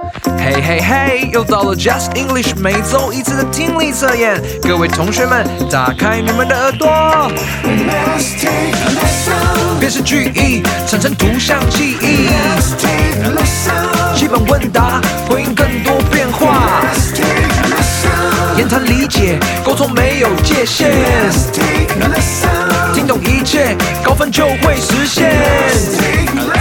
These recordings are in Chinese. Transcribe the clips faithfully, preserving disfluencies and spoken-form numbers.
嘿嘿嘿，又到了 Just English 每周一次的听力测验，各位同学们，打开你们的耳朵。Let's take a lesson， 辨识句意，产生图像记忆。Let's take a lesson， 基本问答，回应更多变化。Let's take a lesson， 言谈理解，沟通没有界限。Let's take a lesson， 听懂一切，高分就会实现。Let's take a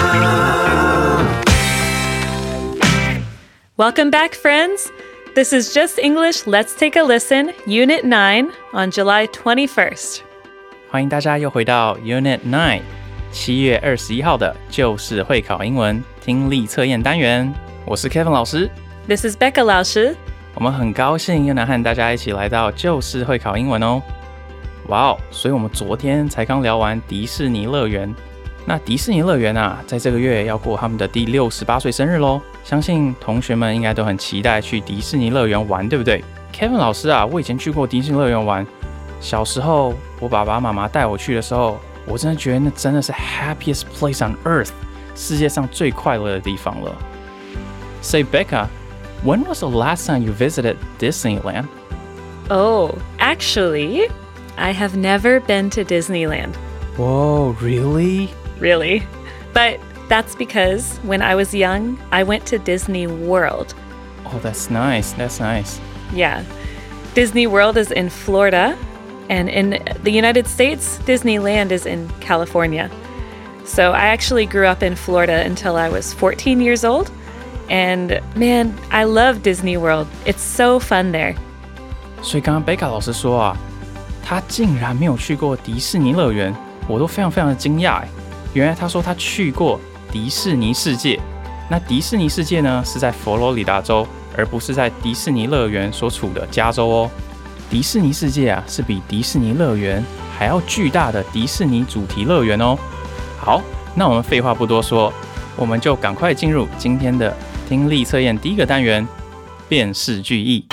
lesson。Welcome back, friends. This is Just English. Let's take a listen, Unit nine on July twenty-first. 欢迎大家又回到 Unit nine， 七月二十一号的就是会考英文听力测验单元。我是 Kevin 老师 This is Becca 老师。 我们很高兴又能和大家一起来到就是会考英文哦。哇哦，所以我们昨天才刚聊完迪士尼乐园。那迪士尼乐园啊，在这个月要过他们的第六十八岁生日咯，相信同学们应该都很期待去迪士尼乐园玩，对不对？ Kevin 老师啊，我以前去过迪士尼乐园玩，小时候我爸爸妈妈带我去的时候，我真的觉得那真的是 happiest place on earth， 世界上最快乐的地方了。 Say Becca, when was the last time you visited Disneyland? Oh, actually, I have never been to Disneyland. Whoa, really? Really? But that's because when I was young, I went to Disney World. Oh, that's nice. That's nice. Yeah. Disney World is in Florida, and in the United States, Disneyland is in California. So I actually grew up in Florida until I was fourteen years old. And man, I love Disney World. It's so fun there. 所以刚刚贝卡老师说啊，他竟然没有去过迪士尼乐园，我都非常非常的惊讶哎。原来他说他去过迪士尼世界，那迪士尼世界呢是在佛罗里达州，而不是在迪士尼乐园所处的加州哦。迪士尼世界啊是比迪士尼乐园还要巨大的迪士尼主题乐园哦。好，那我们废话不多说，我们就赶快进入今天的听力测验第一个单元，辨识句意。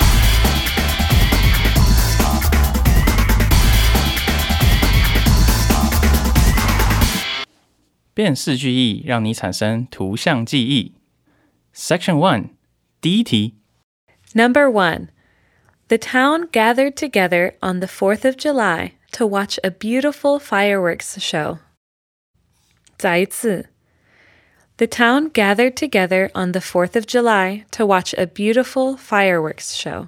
辨识句意让你产生图像记忆。Section one， 第一题。 Number one, the town gathered together on the fourth of July to watch a beautiful fireworks show. 再一次。The town gathered together on the fourth of July to watch a beautiful fireworks show.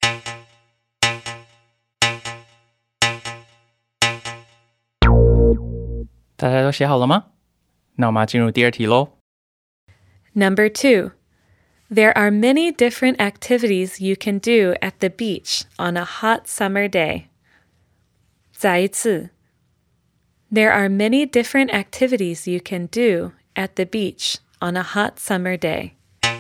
大家都写好了吗？那我们要进入第二题咯。 Number two, there are many different activities you can do at the beach on a hot summer day. 再一次。There are many different activities you can do at the beach on a hot summer day.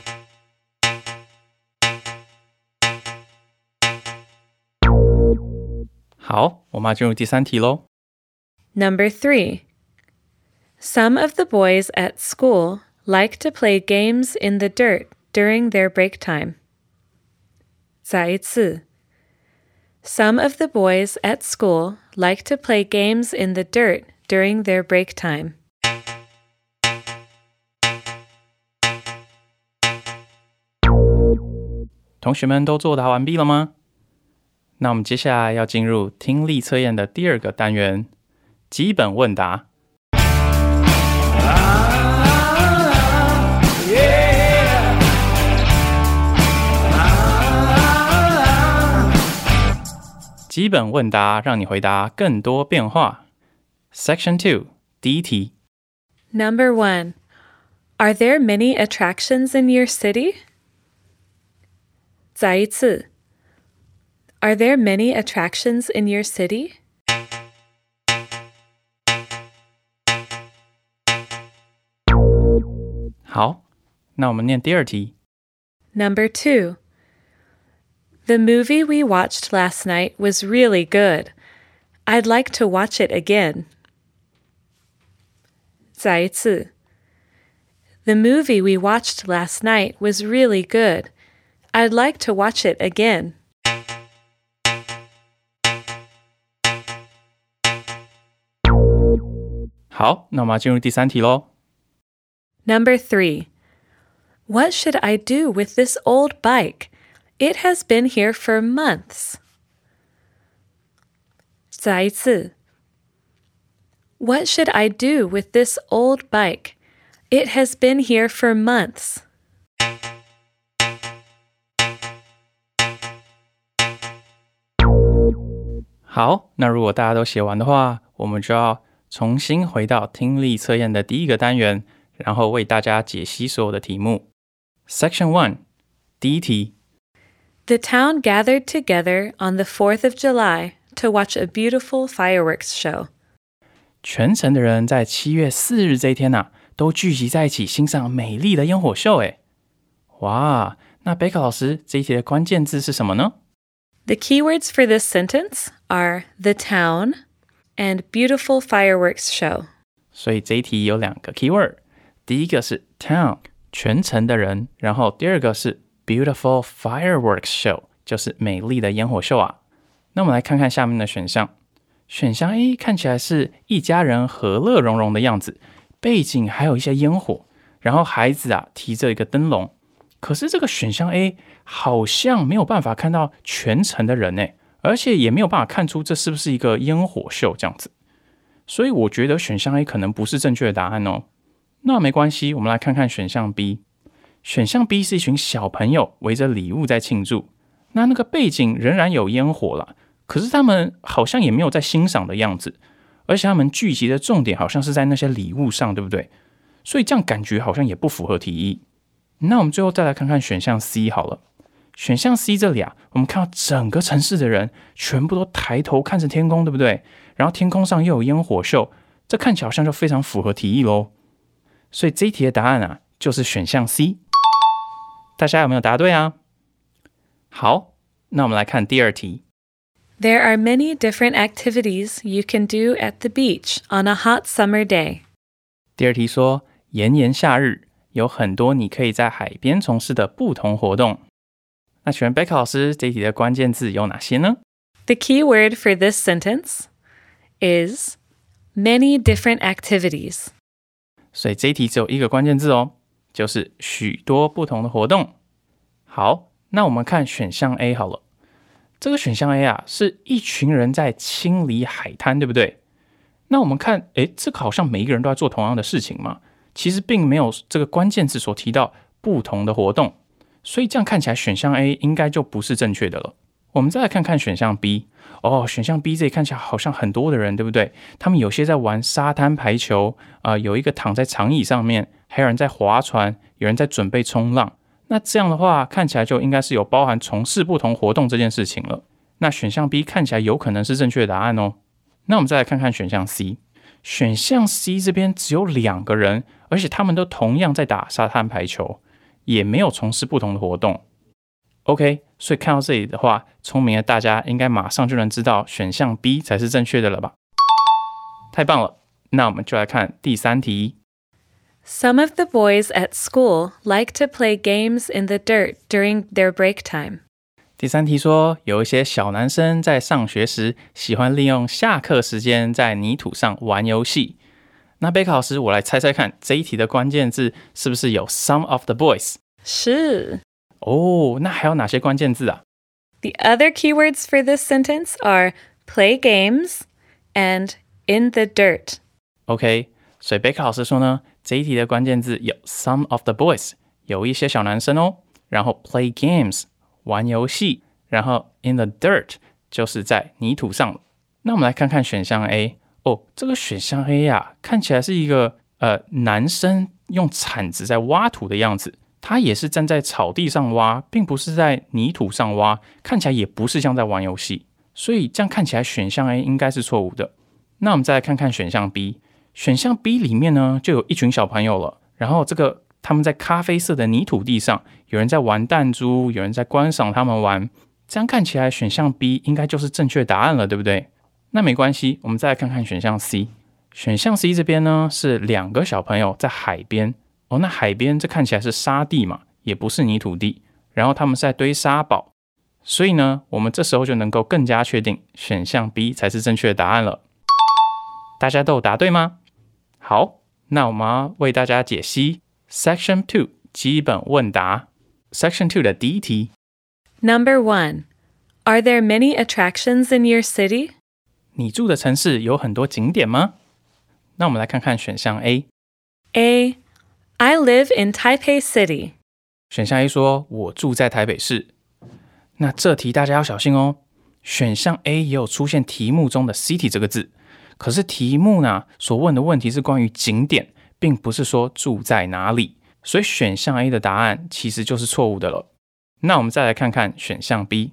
好，我们要进入第三题咯。 Number three, some of the boys at school like to play games in the dirt during their break time. 再一次。Some of the boys at school like to play games in the dirt during their break time. 同学们都作答完毕了吗？那我们接下来要进入听力测验的第二个单元，基本问答。基本问答让你回答更多变化。Section two， 第一题。 Number one, are there many attractions in your city? 再一次。Are there many attractions in your city? 好，那我们念第二题。 Number two, the movie we watched last night was really good. I'd like to watch it again. 再一次。The movie we watched last night was really good. I'd like to watch it again. 好，那我们要进入第三题咯。Number three, What should I do with this old bike? It has been here for months. 再一次 What should I do with this old bike? It has been here for months. 好，那如果大家都写完的话，我们就要重新回到听力测验的第一个单元，然后为大家解析所有的题目。Section one 第一题 The town gathered together on the fourth of July to watch a beautiful fireworks show. 全城的人在七月四日这一天啊，都聚集在一起欣赏美丽的烟火秀诶。哇，那贝克老师这一题的关键字是什么呢？ The keywords for this sentence are the town and beautiful fireworks show. 所以这一题有两个 keyword， 第一个是 town 全城的人，然后第二个是 beautiful fireworks show 就是美丽的烟火秀啊。那我们来看看下面的选项。选项 A 看起来是一家人和乐融融的样子，背景还有一些烟火，然后孩子啊提着一个灯笼。可是这个选项 A 好像没有办法看到全城的人耶，而且也没有办法看出这是不是一个烟火秀这样子。所以我觉得选项 A 可能不是正确的答案哦。那没关系，我们来看看选项 B。选项 B 是一群小朋友围着礼物在庆祝，那那个背景仍然有烟火啦，可是他们好像也没有在欣赏的样子，而且他们聚集的重点好像是在那些礼物上，对不对？所以这样感觉好像也不符合题意。那我们最后再来看看选项 C 好了。选项 C 这里啊，我们看到整个城市的人全部都抬头看着天空，对不对？然后天空上又有烟火秀，这看起来好像就非常符合题意咯。所以这一题的答案啊，就是选项 C。大家有没有答对啊？好，那我们来看第二题。 There are many different activities you can do at the beach on a hot summer day. 第二题说，炎炎夏日有很多你可以在海边从事的不同活动。那请问贝克老师，这一题的关键字有哪些呢？ The key word for this sentence is many different activities. 所以这一题只有一个关键字哦，就是许多不同的活动。好，那我们看选项 A 好了。这个选项 A 啊，是一群人在清理海滩，对不对？那我们看，诶，这个好像每一个人都在做同样的事情嘛，其实并没有这个关键字所提到不同的活动，所以这样看起来选项 A 应该就不是正确的了。我们再来看看选项 B。哦，选项 B 这里看起来好像很多的人，对不对？他们有些在玩沙滩排球，呃，有一个躺在长椅上面，还有人在划船，有人在准备冲浪。那这样的话，看起来就应该是有包含从事不同活动这件事情了。那选项 B 看起来有可能是正确的答案哦。那我们再来看看选项 C。选项 C 这边只有两个人，而且他们都同样在打沙滩排球，也没有从事不同的活动。OK， 所以看到这里的话，聪明的大家应该马上就能知道选项 B 才是正确的了吧？太棒了，那我们就来看第三题。 Some of the boys at school like to play games in the dirt during their break time. 第三题说，有一些小男生在上学时喜欢利用下课时间在泥土上玩游戏。那贝克老师，我来猜猜看，这一题的关键字是不是有 some of the boys？ 是。 哦，那还有哪些关键字啊？ The other keywords for this sentence are play games and in the dirt. OK， 所以贝克老师说呢，这一题的关键字有 some of the boys， 有一些小男生哦，然后 play games， 玩游戏，然后 in the dirt 就是在泥土上了。那我们来看看选项 A。哦，这个选项 A 啊，看起来是一个呃男生用铲子在挖土的样子。他也是站在草地上挖，并不是在泥土上挖，看起来也不是像在玩游戏，所以这样看起来选项 A 应该是错误的。那我们再来看看选项 B。 选项 B 里面呢，就有一群小朋友了，然后这个他们在咖啡色的泥土地上，有人在玩弹珠，有人在观赏他们玩，这样看起来选项 B 应该就是正确答案了，对不对？那没关系，我们再来看看选项 C。 选项 C 这边呢，是两个小朋友在海边。哦，那海边这看起来是沙地嘛，也不是泥土地，然后他们是在堆沙堡，所以呢，我们这时候就能够更加确定选项 B 才是正确的答案了。大家都有答对吗？好，那我们要为大家解析 Section two 基本问答 Section two 的第一题。 Number one. Are there many attractions in your city? 你住的城市有很多景点吗？那我们来看看选项 A。 A. I live in Taipei City. 选项 A 说我住在台北市。那这题大家要小心哦，选项 A 也有出现题目中的 city 这个字，可是题目呢所问的问题是关于景点，并不是说住在哪里，所以选项 A 的答案其实就是错误的了。那我们再来看看选项 B。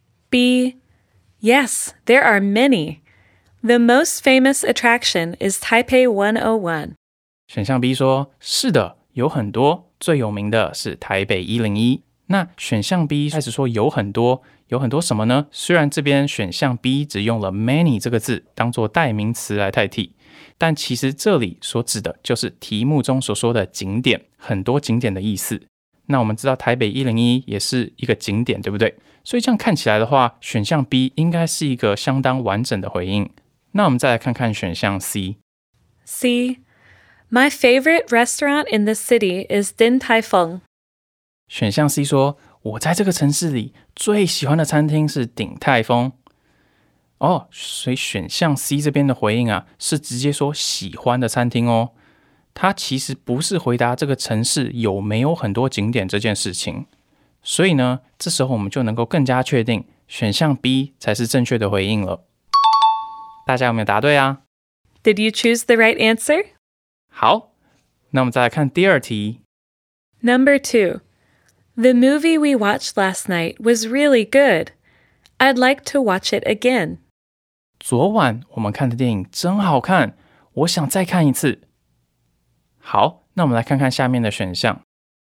B. Yes, there are many. The most famous attraction is Taipei one oh one. 选项 B 说是的，有很多，最有名的是台北一零一。那选项 B 开始说有很多，有很多什么呢？虽然这边选项 B 只用了 many 这个字当做代名词来代替，但其实这里所指的就是题目中所说的景点，很多景点的意思。那我们知道台北一零一也是一个景点，对不对？所以这样看起来的话，选项 B 应该是一个相当完整的回应。那我们再来看看选项 C。 C. My favorite restaurant in the city is Din Tai Fung. 选项 C 说我在这个城市里最喜欢的餐厅是鼎泰丰。哦，所以选项 C 这边的回应啊，是直接说喜欢的餐厅哦。它其实不是回答这个城市有没有很多景点这件事情。所以呢，这时候我们就能够更加确定选项 B 才是正确的回应了。大家有没有答对啊？ Did you choose the right answer? 好，那我们再来看第二题。 Number two. The movie we watched last night was really good. I'd like to watch it again. 昨晚我们看的电影真好看，我想再看一次。好，那我们来看看下面的选项。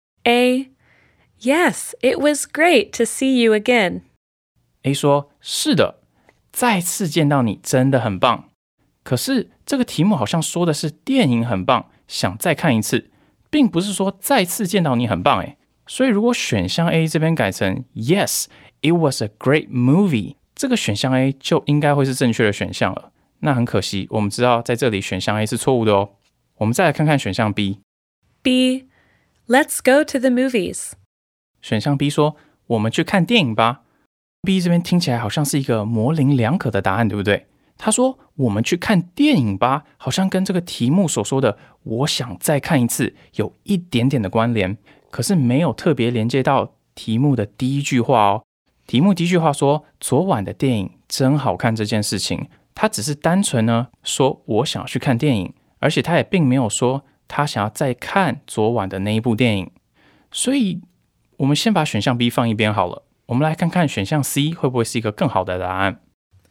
A. Yes, it was great to see you again. A 说是的，再次见到你真的很棒。可是这个题目好像说的是电影很棒，想再看一次，并不是说再次见到你很棒诶。所以如果选项 A 这边改成 Yes, it was a great movie， 这个选项 A 就应该会是正确的选项了。那很可惜，我们知道在这里选项 A 是错误的哦。我们再来看看选项 B。 B. Let's go to the movies. 选项 B 说我们去看电影吧。 B 这边听起来好像是一个模棱两可的答案，对不对？他说我们去看电影吧，好像跟这个题目所说的我想再看一次有一点点的关联，可是没有特别连接到题目的第一句话哦。题目第一句话说昨晚的电影真好看这件事情，他只是单纯呢说我想要去看电影，而且他也并没有说他想要再看昨晚的那一部电影。所以我们先把选项 B 放一边好了，我们来看看选项 C 会不会是一个更好的答案。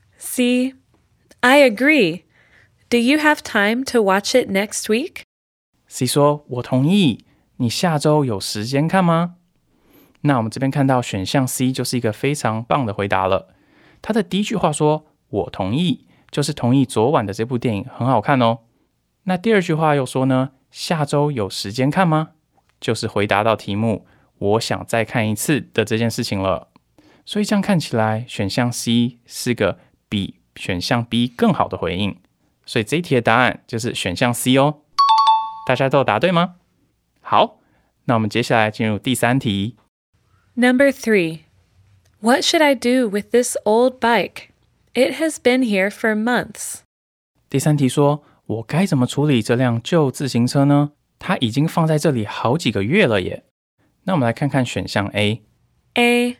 C. I agree. Do you have time to watch it next week? C 说我同意，你下周有时间看吗？那我们这边看到选项 C 就是一个非常棒的回答了。他的第一句话说我同意，就是同意昨晚的这部电影很好看哦。那第二句话又说呢，下周有时间看吗？就是回答到题目我想再看一次的这件事情了。所以这样看起来选项 C 是个比选项 B 更好的回应，所以这一题的答案就是选项 C 哦。大家都有答对吗？好，那我们接下来进入第三题。 Number three. What should I do with this old bike? It has been here for months. 第三题说我该怎么处理这辆旧自行车呢？它已经放在这里好几个月了耶。那我们来看看选项 A。 A.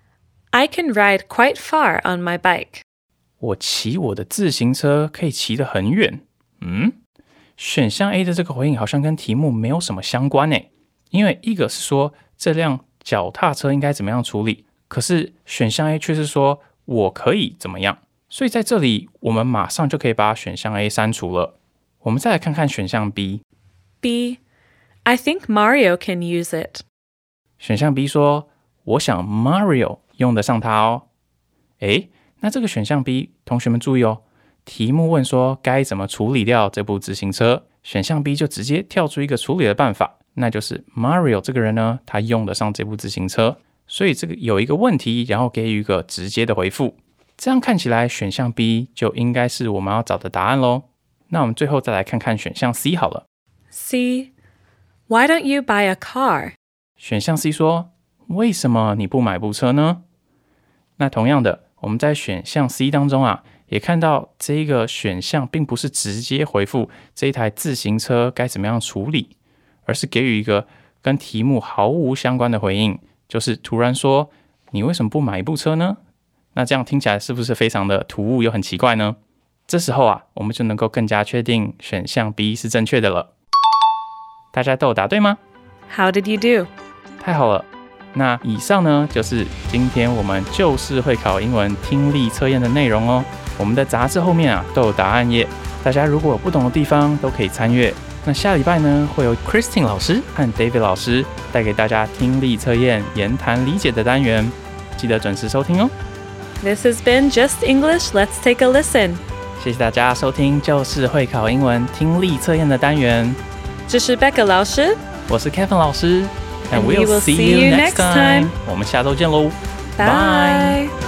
I can ride quite far on my bike. 我骑我的自行车可以骑得很远。嗯，选项 A 的这个回应好像跟题目没有什么相关耶，因为一个是说这辆脚踏车应该怎么样处理，可是选项 A 却是说我可以怎么样，所以在这里我们马上就可以把选项 A 删除了。我们再来看看选项 B。 B. I think Mario can use it. 选项 B 说我想 Mario 用得上它哦。诶，那这个选项 B 同学们注意哦，题目问说该怎么处理掉这部自行车，选项 B 就直接跳出一个处理的办法，那就是 Mario 这个人呢，他用得上这部自行车，所以这个有一个问题，然后给予一个直接的回复。这样看起来选项 B 就应该是我们要找的答案咯。那我们最后再来看看选项 C 好了。 C. Why don't you buy a car? 选项 C 说，为什么你不买部车呢？那同样的，我们在选项 C 当中啊，也看到这个选项并不是直接回复这一台自行车该怎么样处理，而是给予一个跟题目毫无相关的回应，就是突然说，你为什么不买一部车呢？那这样听起来是不是非常的突兀又很奇怪呢？这时候啊，我们就能够更加确定选项 B 是正确的了。大家都有答对吗？ How did you do? 太好了。那以上呢，就是今天我们就是会考英文听力测验的内容哦。我们的杂志后面啊都有答案页，大家如果有不懂的地方都可以参阅。那下礼拜呢，会由 Christine 老师和 David 老师带给大家听力测验言谈理解的单元，记得准时收听哦。 This has been Just English. Let's take a listen. 谢谢大家收听就是会考英文听力测验的单元。 这是 Becca 老师， 我是 Kevin 老师。And we we'll will see see you you next next time. time. 我们下周见喽， Bye.